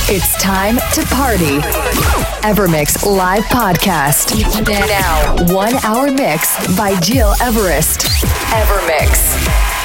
It's time to party. Evermix live podcast. Now, 1 hour mix by Gil Everest. Evermix.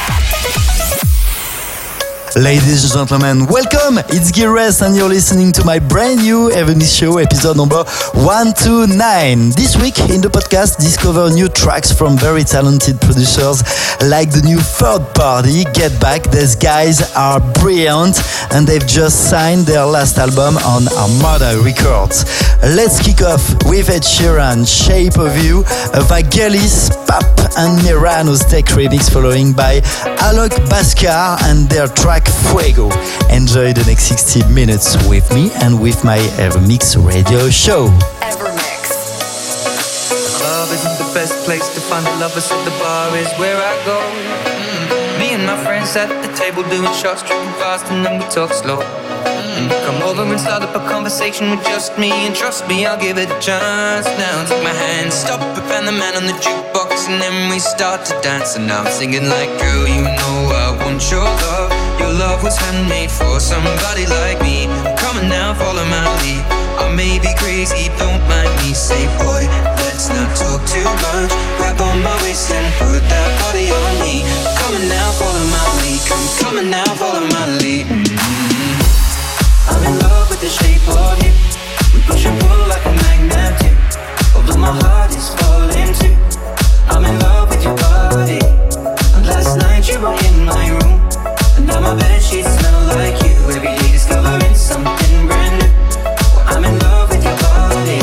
Ladies and gentlemen, welcome! It's Gil Everest and you're listening to my brand new Evermix show, episode number 129. This week in the podcast, discover new tracks from very talented producers like the new Third Party, Get Back. These guys are brilliant and they've just signed their last album on Armada Records. Let's kick off with Ed Sheeran, Shape of You, Vangelis, Pap and Mirano's tech remix, following by Alok Bhaskar and their track Fuego. Enjoy the next 60 minutes with me and with my Evermix radio show. Evermix. Love isn't the best place to find the lovers, so the bar is where I go. Me and my friends at the table doing shots, drinking fast, and then we talk slow. Come over and start up a conversation with just me, and trust me, I'll give it a chance. Now take my hand, stop it, and the man on the jukebox, and then we start to dance. And I'm singing like, girl, you know I want your love. Your love was handmade for somebody like me. Come on now, follow my lead. I may be crazy, don't mind me. Say, boy, let's not talk too much. Grab on my waist and put that body on me. Come on now, follow my lead. Come on now, follow my lead. I'm in love with the shape of you. We push and pull like a magnet too. Although my heart is falling too. I'm in love with your body. And last night you were in my room. And now my bedsheets smell like you. Every day discovering something brand new. I'm in love with your body.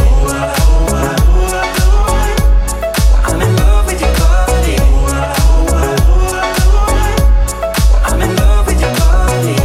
I'm in love with your body. I'm in love with your body.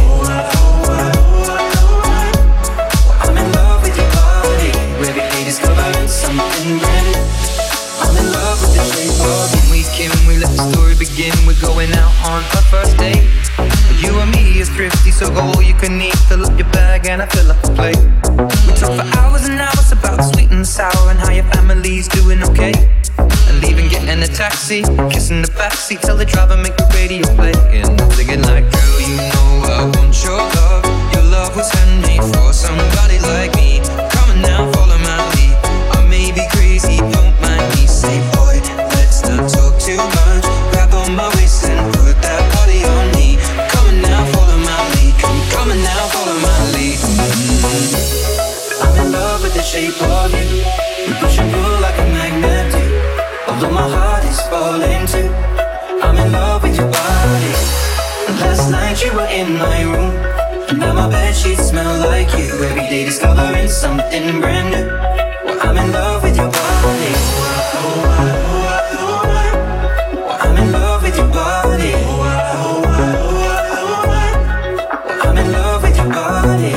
I'm in love with your body. Every day discovering something brand new. I'm in love with the shape of you. We let the story begin. We're going out on our first date. You and me is thrifty, so go all you can eat. Fill up your bag and I fill up the plate. We talk for hours and hours about the sweet and the sour and how your family's doing okay. And leaving, getting a taxi, kissing the backseat, tell the driver make the radio play. And I'm thinking like, girl, you know I want your love. Your love was handmade for somebody like me. Come on now, follow my lead. I may be crazy, don't mind me. Say, boy, let's not talk too much. Grab on my waist and put that body on me. Come on now, follow my lead. Come on now, follow my lead. I'm in love with the shape of you. We push and pull like a magnet do. Although my heart is falling too. I'm in love with your body. And last night you were in my room. And now my bedsheets smell like you. Every day discovering something brand new. Well, I'm in love with your body. I'm in love with your body. I'm in love with your body.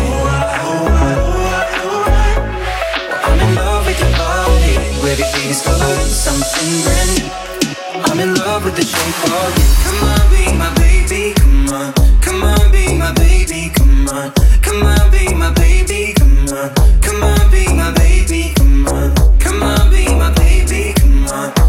I'm in love with your body. Every day discovering something brand new. I'm in love with the shape of you. Come on, be my baby, come on. Come on, be my baby, come on. Come on, be my baby, come on. Come on, be my baby, come on. Come on, be my baby, come on.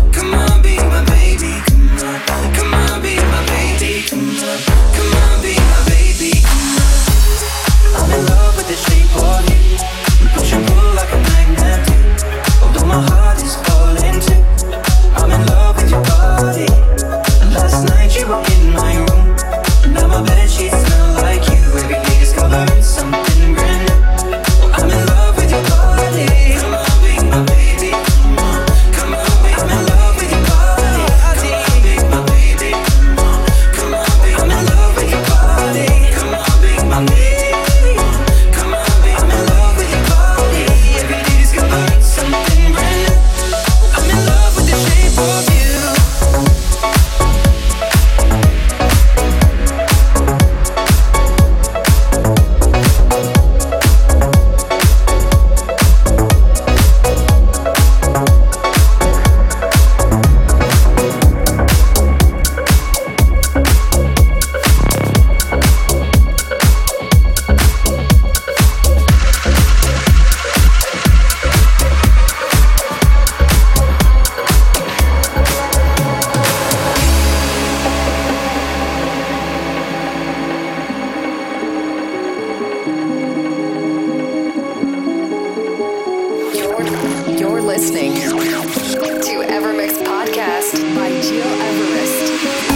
listening to Evermix Podcast by Gil Everest.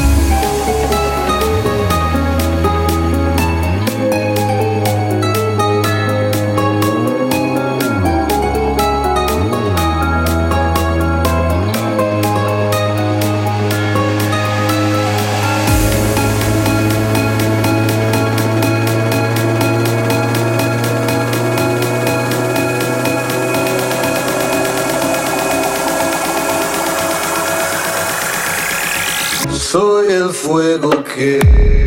Soy el fuego que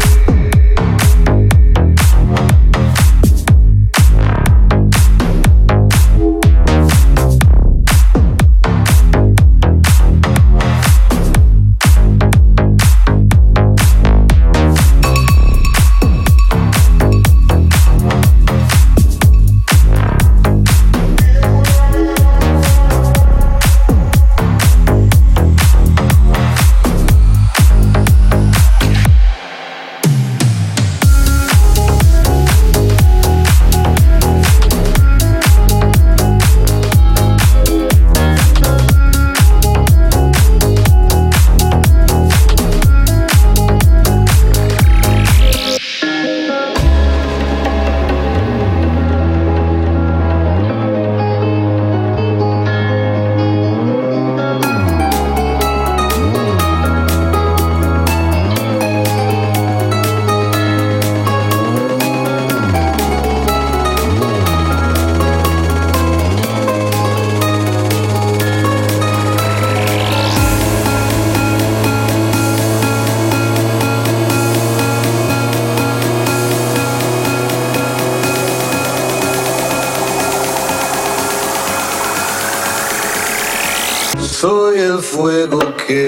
soy el fuego que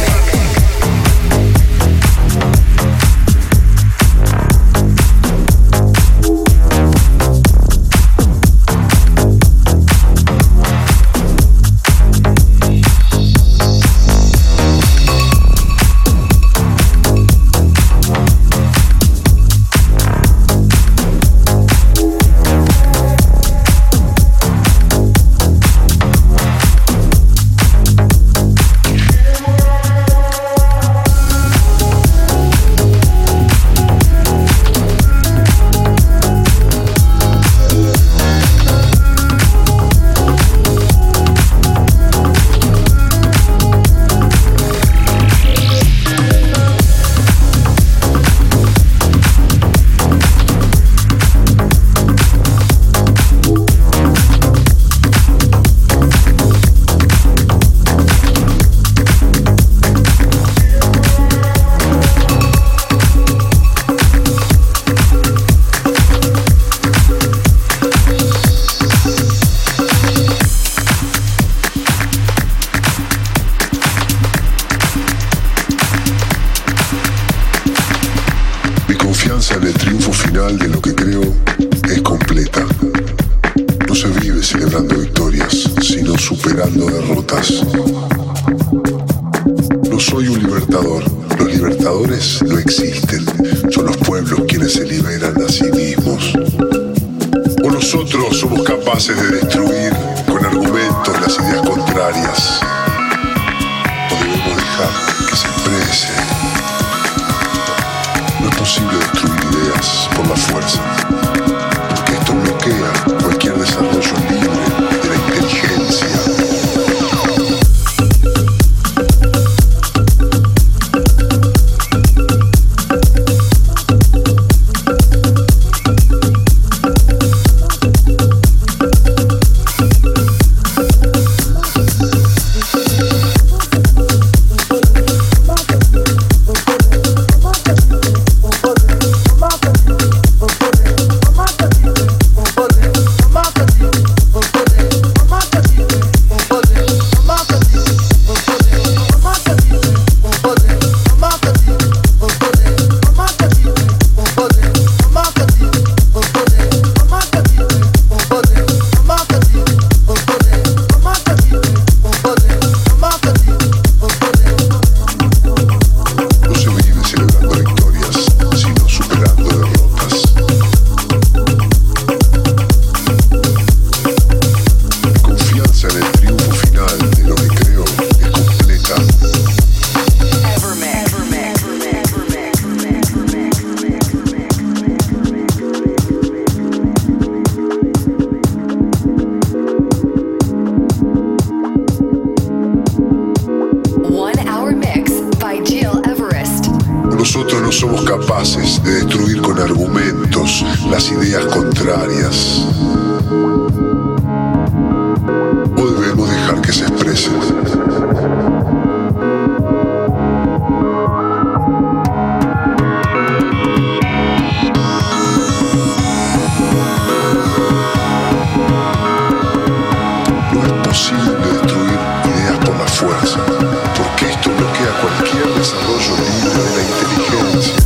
en el triunfo final de lo que creo es completa. No se vive celebrando victorias, sino superando derrotas. No soy un libertador. Los libertadores no existen. Son los pueblos quienes se liberan a sí mismos. O nosotros somos capaces de destruir con argumentos las ideas contrarias. O debemos dejar que se expresen. No es posible destruir ideas por la fuerza, porque esto bloquea cualquier desarrollo libre de la inteligencia. capaces de destruir con argumentos las ideas contrarias. ¿O debemos dejar que se expresen? No es posible destruir ideas por la fuerza, porque esto bloquea cualquier desarrollo libre de la inteligencia.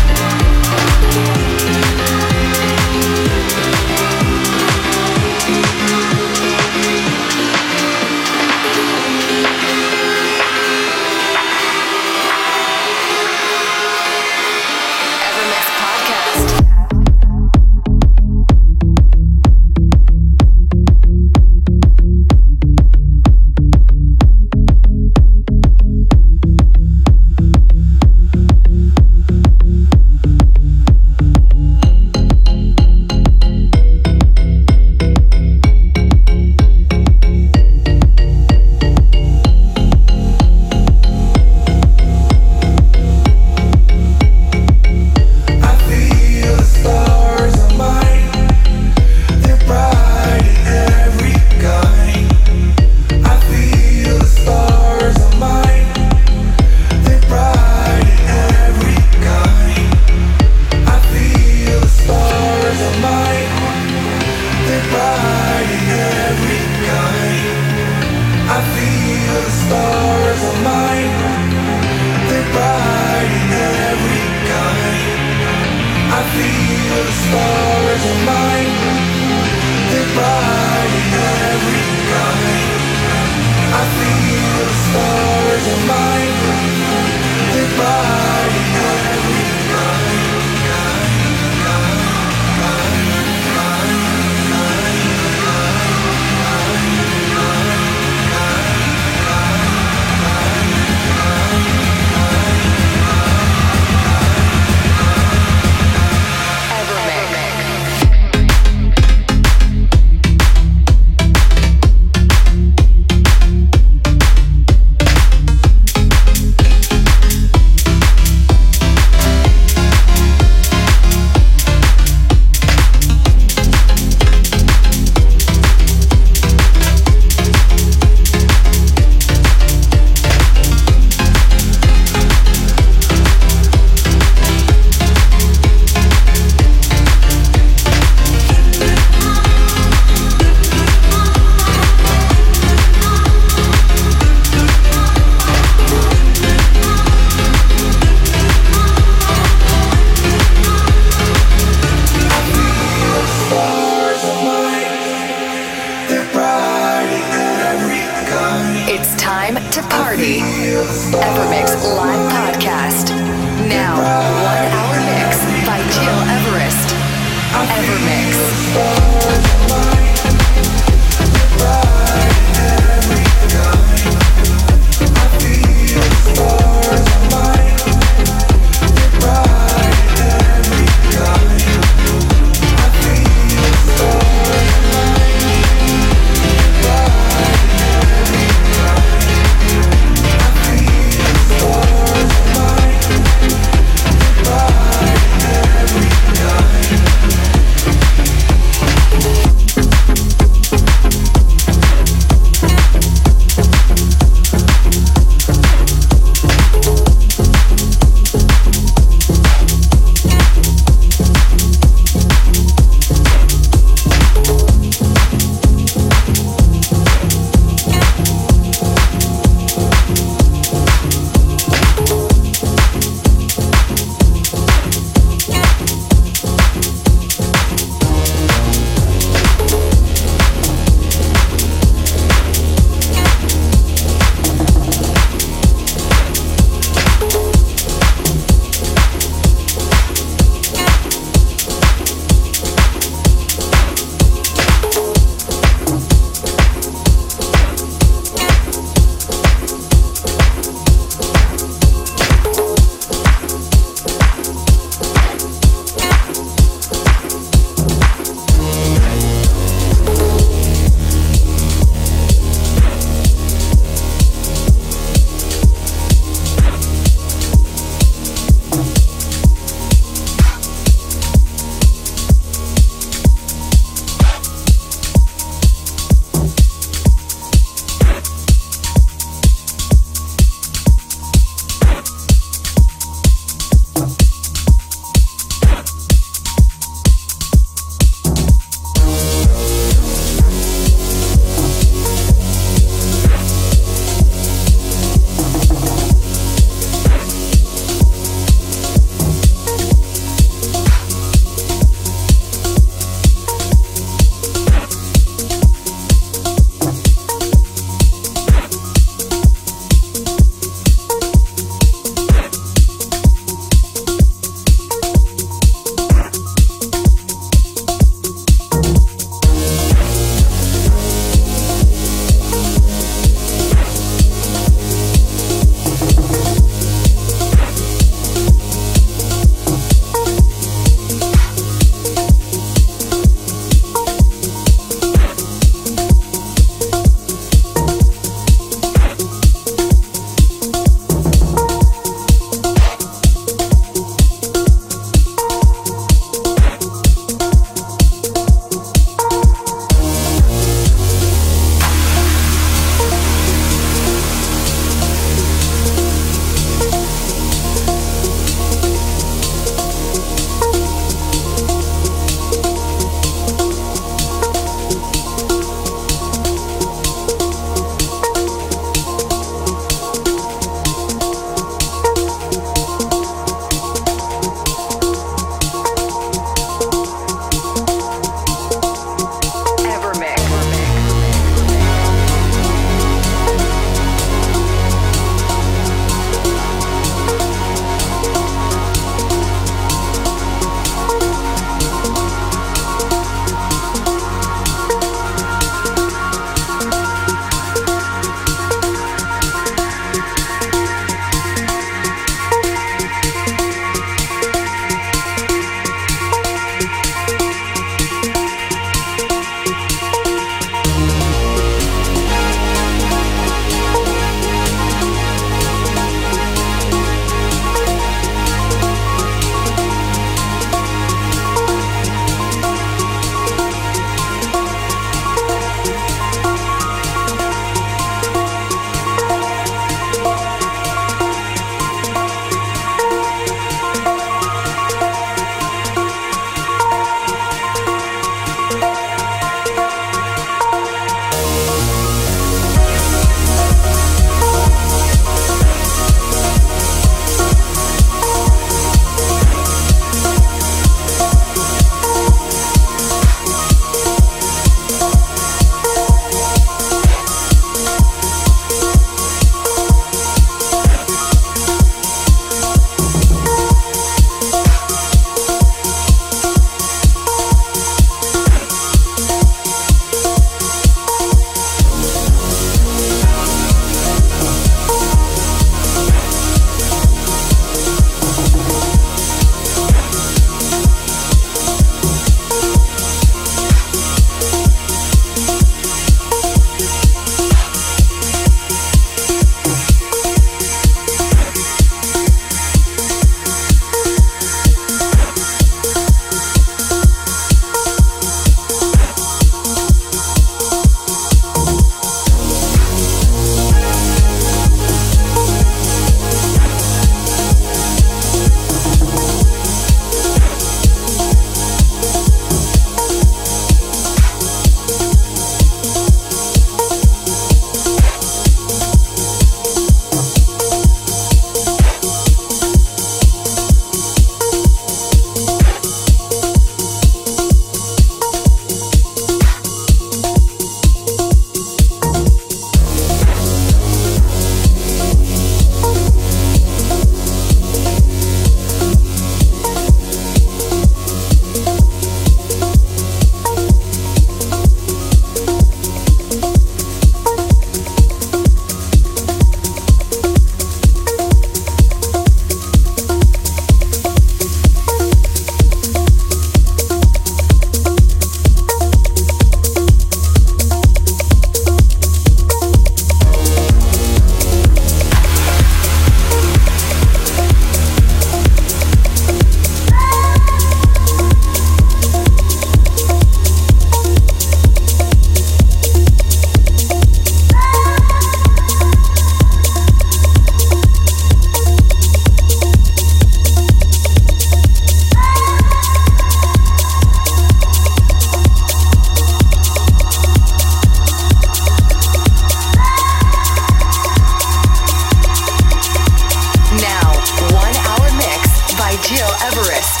Gil Everest.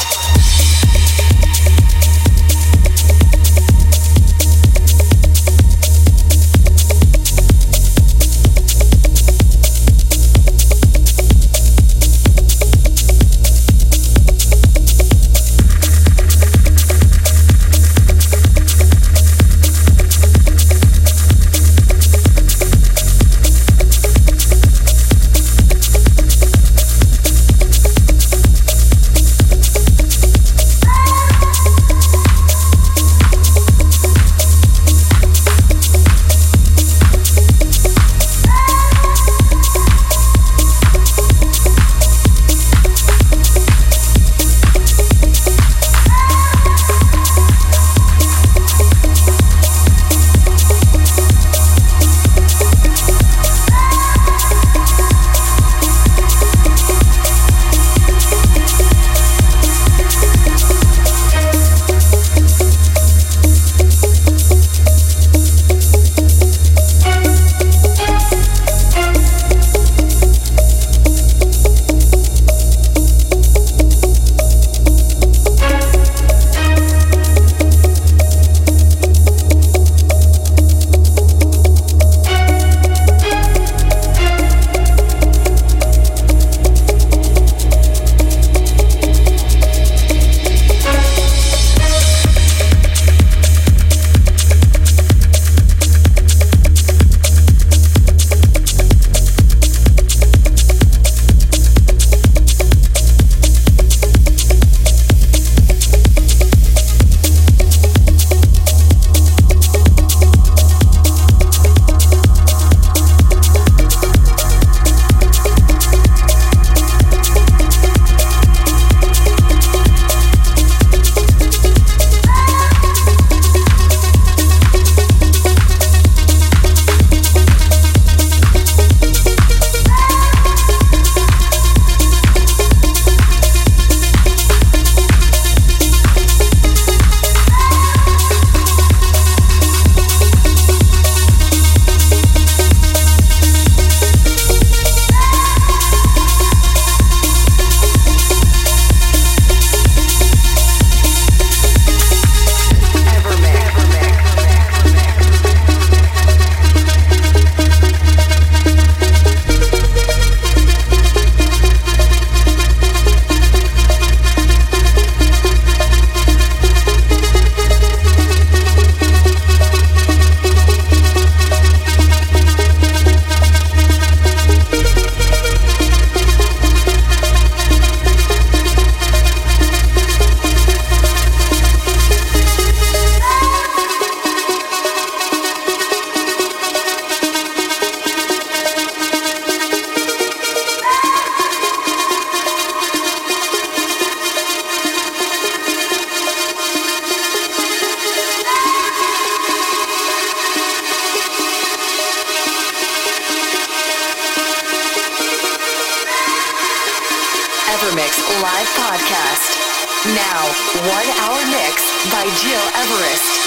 Evermix live podcast. Now, 1 hour mix by Gil Everest.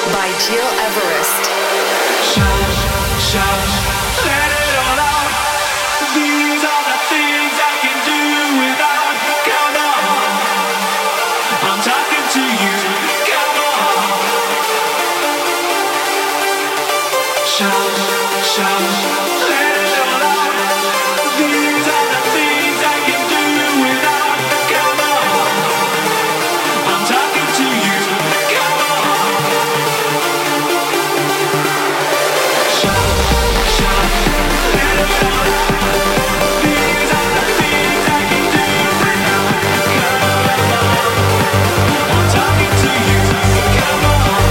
by Gil Everest. Shout, shout, let it all out. These are the things I can do without. Come on, I'm talking to you. Come on. Shout, shout, let it all out. These are the things I can do without. Come on, I'm talking to you. Come on. Shout, shout, let it all out. These are the things I can do without. Come on, I'm talking to you. Come on.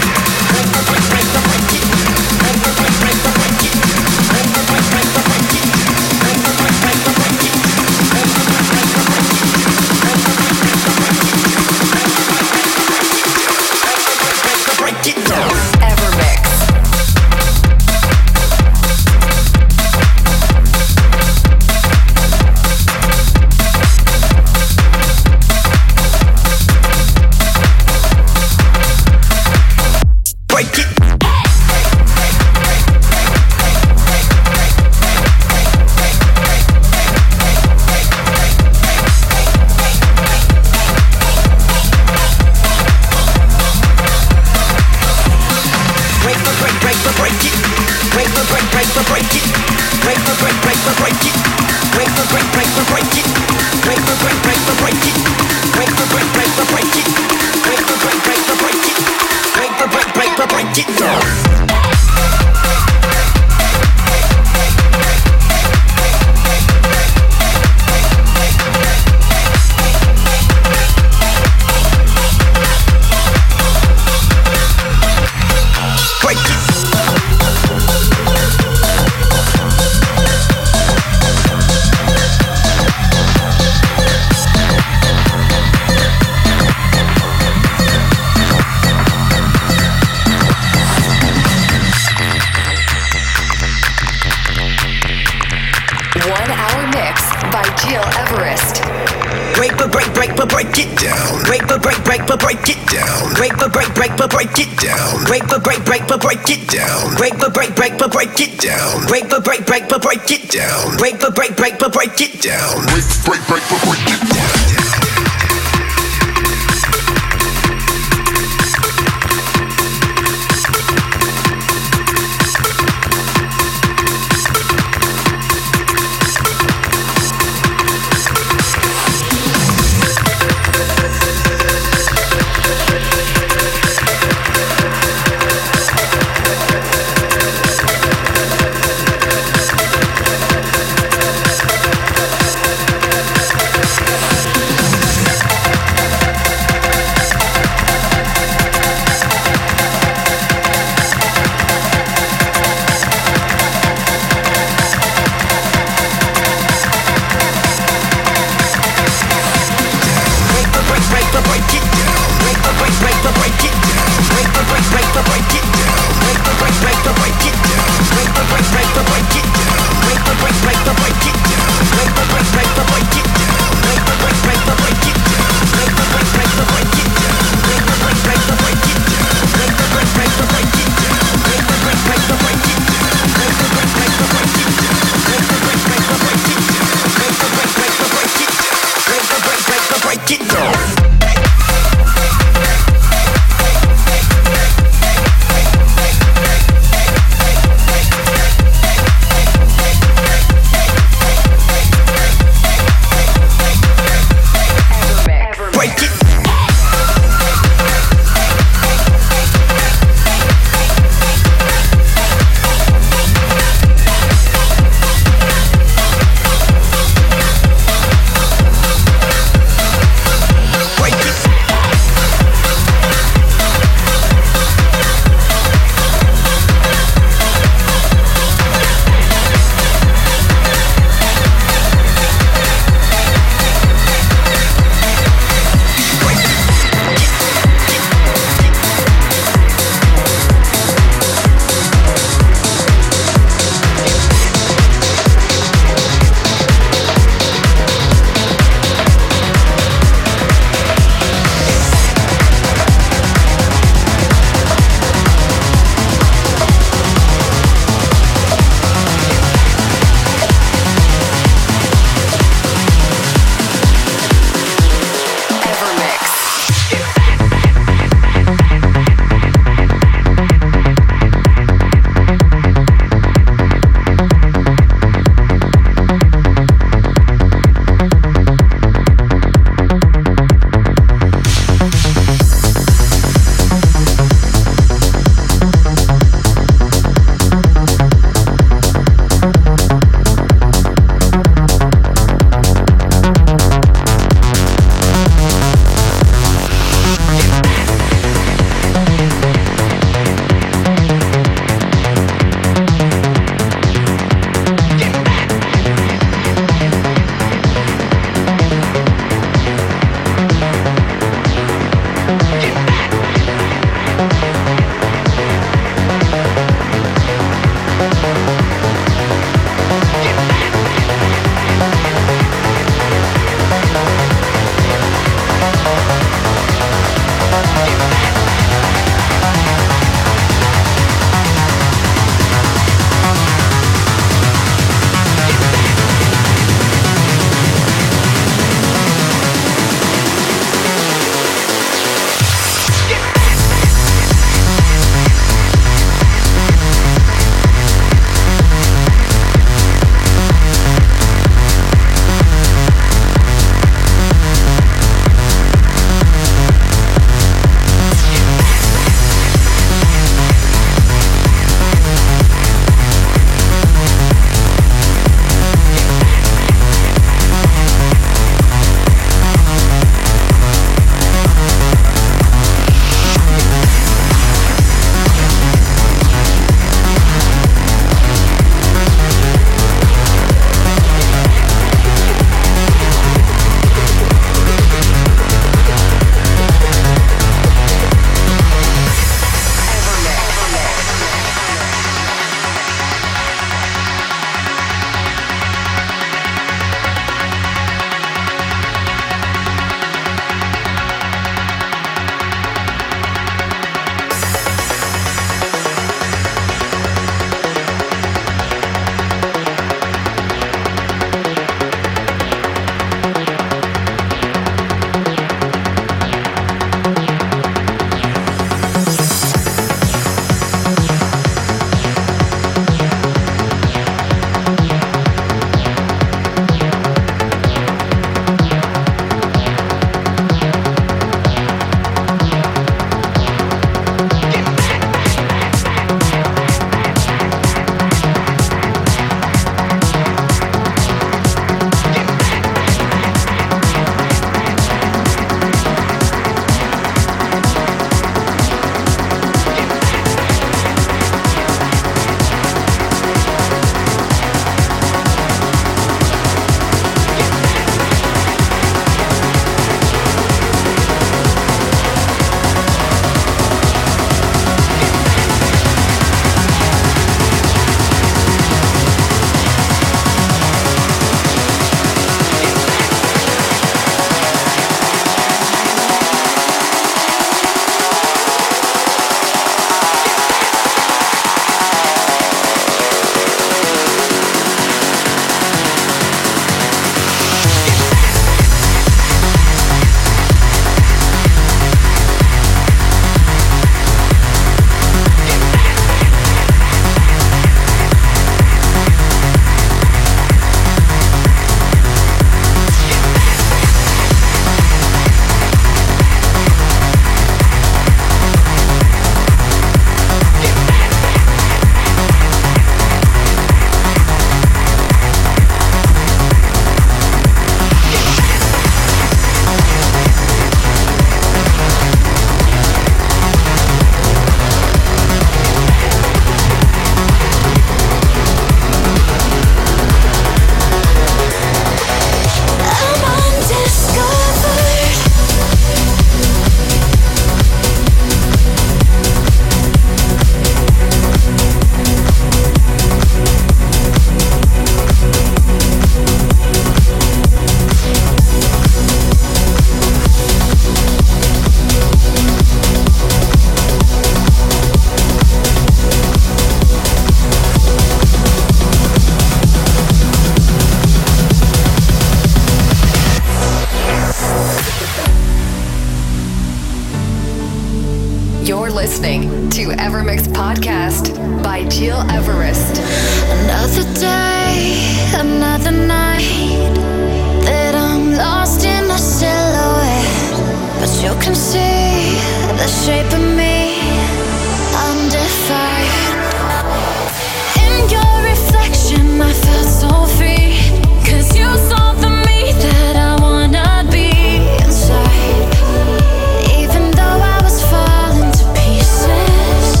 listening to Evermix Podcast by Gil Everest. Another day, another night that I'm lost in a silhouette, but you can see the shape of me undefined. In your reflection I felt so free, 'cause you saw the me that I wanna be inside. Even though I was falling to pieces,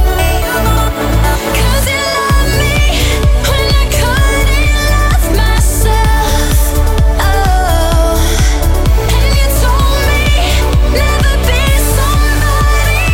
'cause you loved me when I couldn't love myself. Oh, and you told me never be somebody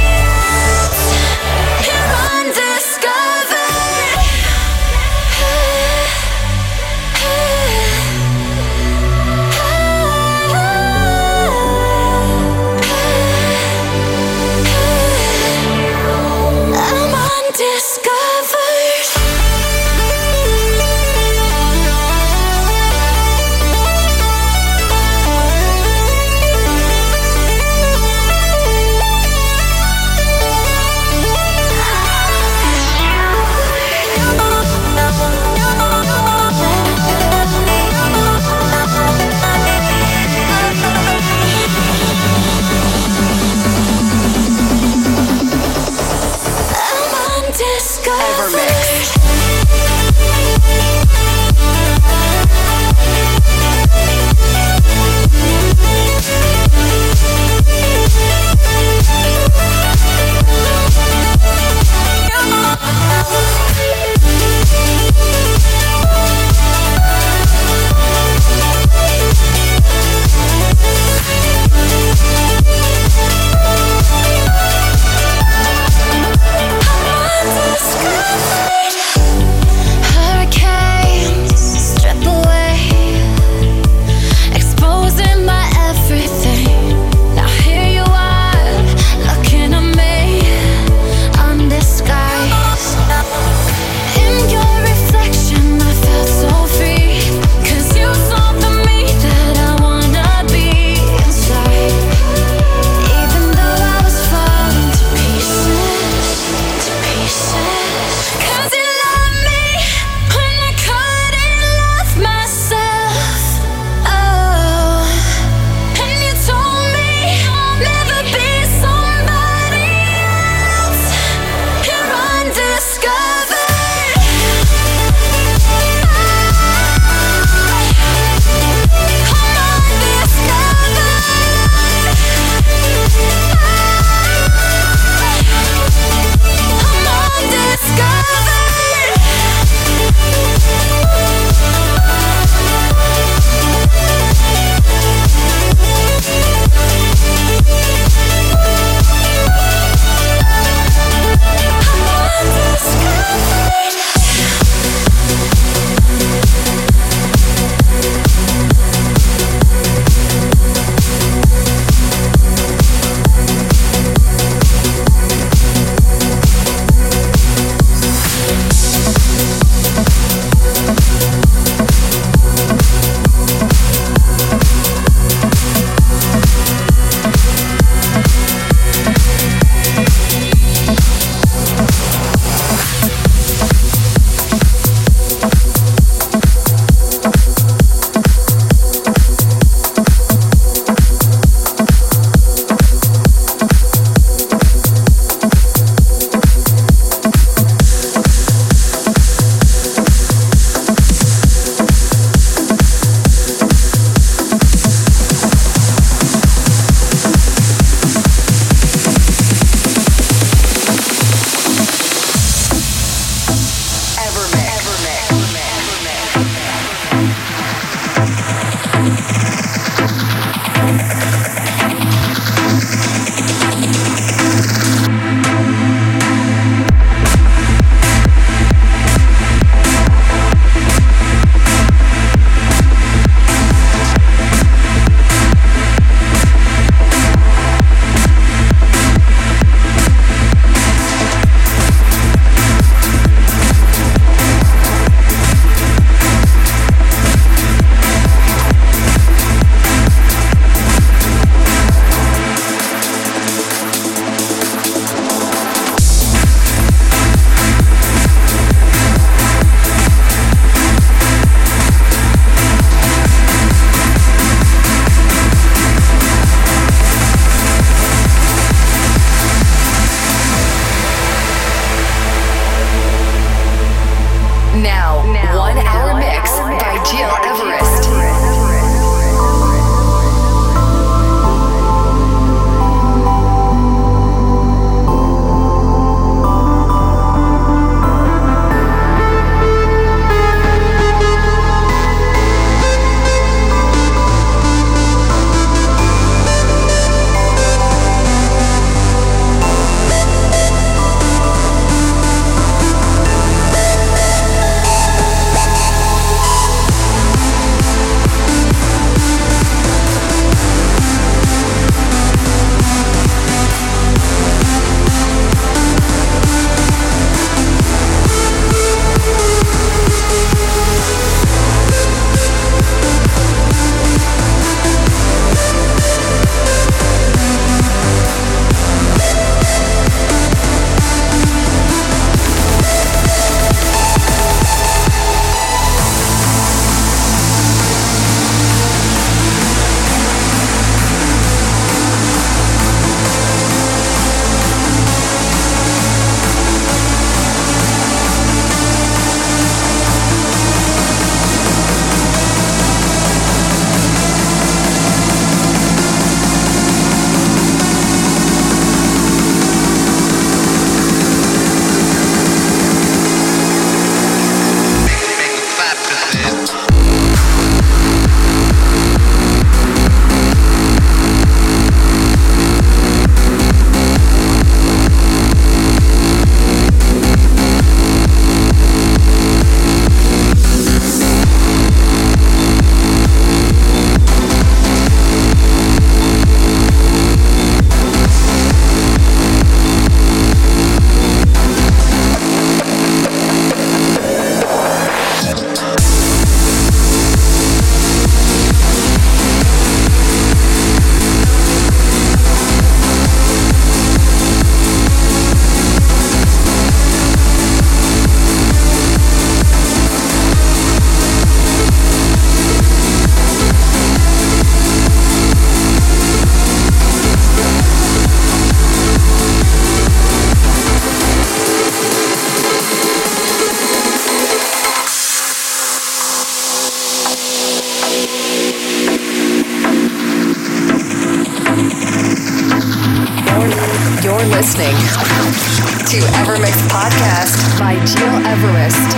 listening to Evermix Podcast by Gil Everest.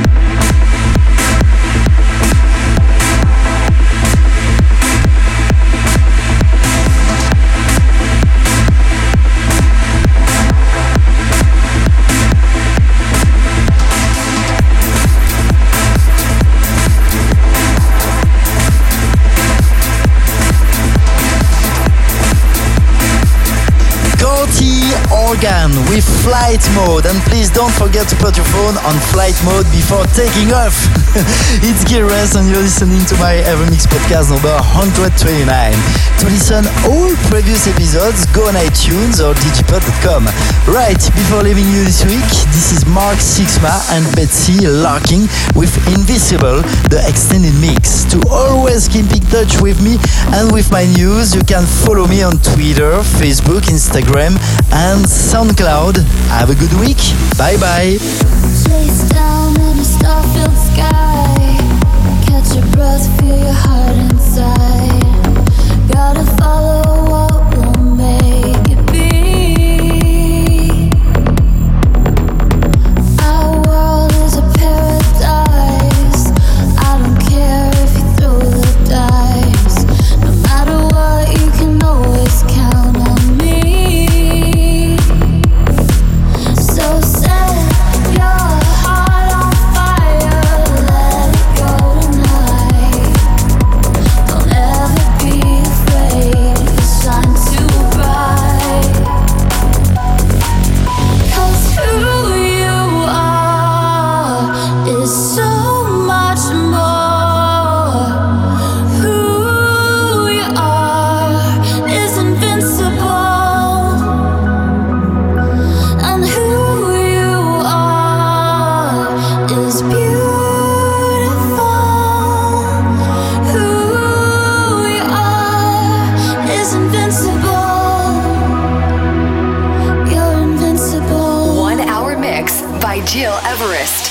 Organ with flight mode, and please don't forget to put your phone on flight mode before taking off. It's Gil Everest and you're listening to my Evermix podcast number 129. To listen all previous episodes, go on iTunes or digipod.com. Right, before leaving you this week, this is Mark Sixma and Betsy Larking with Invisible, the extended mix. To always keep in touch with me and with my news, you can follow me on Twitter, Facebook, Instagram and SoundCloud. Have a good week. Bye bye. Chase down in a star-filled sky. Catch your breath, feel your heart inside. Gotta follow what will make it be. Our world is a paradise. I don't care if you throw the dice. No matter what, you can always count on me. So set your heart on fire, let it go tonight. Don't ever be afraid to shine too bright. 'Cause who you are is so much more. Who you are is invincible. And who you are is beautiful. Who you are is invincible. You're invincible. 1 hour mix by Gil Everest.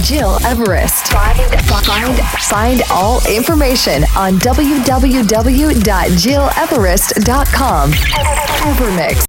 Gil Everest. Find all information on www.gileverest.com. Evermix.